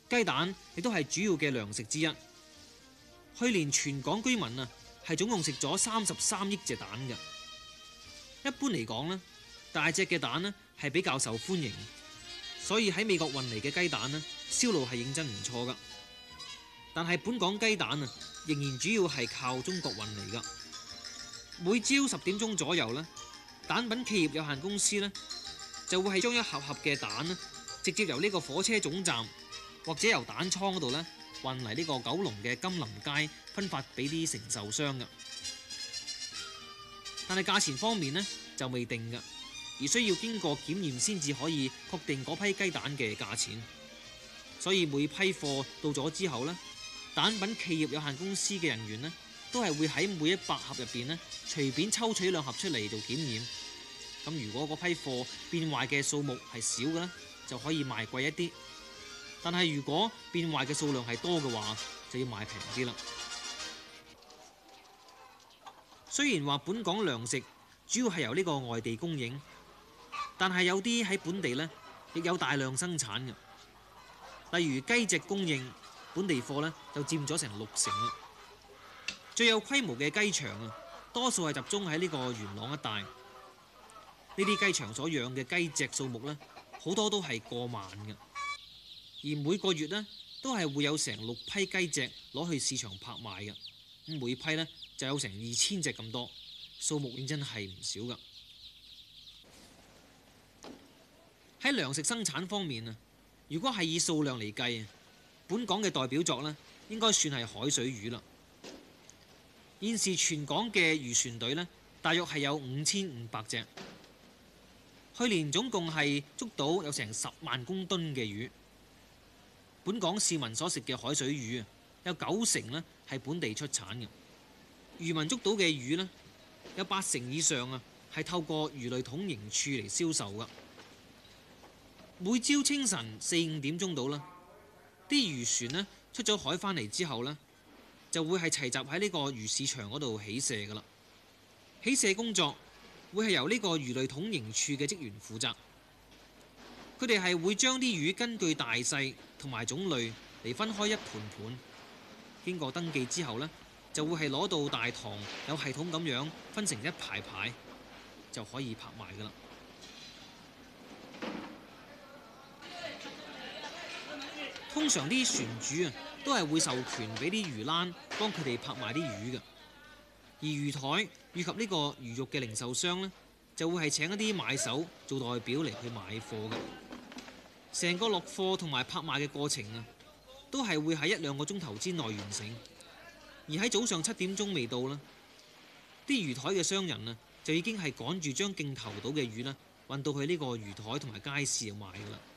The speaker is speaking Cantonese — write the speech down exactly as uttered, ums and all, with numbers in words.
雞蛋亦都係主要嘅糧食之一。去年全港居民啊係總共食咗三十三億隻蛋嘅。一般嚟講呢，大隻嘅蛋呢係比較受歡迎，所以喺美國運嚟嘅雞蛋呢銷路係認真唔錯噶。但係本港雞蛋啊仍然主要係靠中國運嚟噶。每朝十點鐘左右呢，蛋品企業有限公司呢就會係將一盒盒嘅蛋呢直接由呢個火車總站或者由蛋倉嗰度呢運嚟呢個九龍嘅金林街分發俾啲承受商嘅。但係價錢方面呢就未定嘅，而需要經過檢驗先至可以確定嗰批雞蛋嘅價錢。所以每批貨到咗之後呢，蛋品企業有限公司嘅人員呢都係會喺每一百盒入邊呢隨便抽取兩盒出嚟做檢驗。咁如果嗰批貨變壞嘅數目係少嘅呢，就可以賣貴一啲。但係如果變壞嘅數量係多嘅話，就要賣平啲啦。雖然話本港糧食主要係由呢個外地供應，但係有啲喺本地呢亦有大量生產嘅。例如雞隻供應，本地貨呢就佔咗成六成啦。最有規模嘅雞場啊，多數係集中喺呢個元朗一帶。呢啲雞場所養嘅雞隻數目呢，好多都係過萬嘅。而每個月呢，都係會有成六批雞隻攞去市場拍賣嘅。咁每批呢，就有成二千隻咁多，數目認真係唔少噶。喺糧食生產方面啊，如果係以數量嚟計，本港嘅代表作呢，應該算係海水魚啦。現時全港嘅漁船隊呢，大約係有五千五百隻。去年總共係捉到有成十萬公噸嘅魚。本港市民所食嘅海水魚啊，有九成呢係本地出產嘅。漁民捉到嘅魚呢，有八成以上啊係透過魚類統營處嚟銷售噶。每朝清晨四五點鐘到啦，啲漁船呢出咗海返嚟之後呢，就會係齊集喺呢個魚市場嗰度起卸噶啦。起卸工作會係由呢個魚類統營處嘅職員負責。佢哋係會將啲魚根據大細同埋種類嚟分開一盤盤，經過登記之後呢，就會係攞到大堂，有系統咁樣分成一排排，就可以拍賣噶啦。通常啲船主啊都係會授權俾啲魚欄幫佢哋拍賣啲魚嘅，而魚台以及呢個魚肉嘅零售商呢，就會係請一啲買手做代表嚟去買貨嘅。成個落貨同埋拍賣嘅過程啊，都係會喺一兩個鐘頭之內完成。而喺早上七點鐘未到啦，啲魚台嘅商人啊，就已經係趕住將競投到嘅魚啦運到去呢個魚台同埋街市度賣噶啦。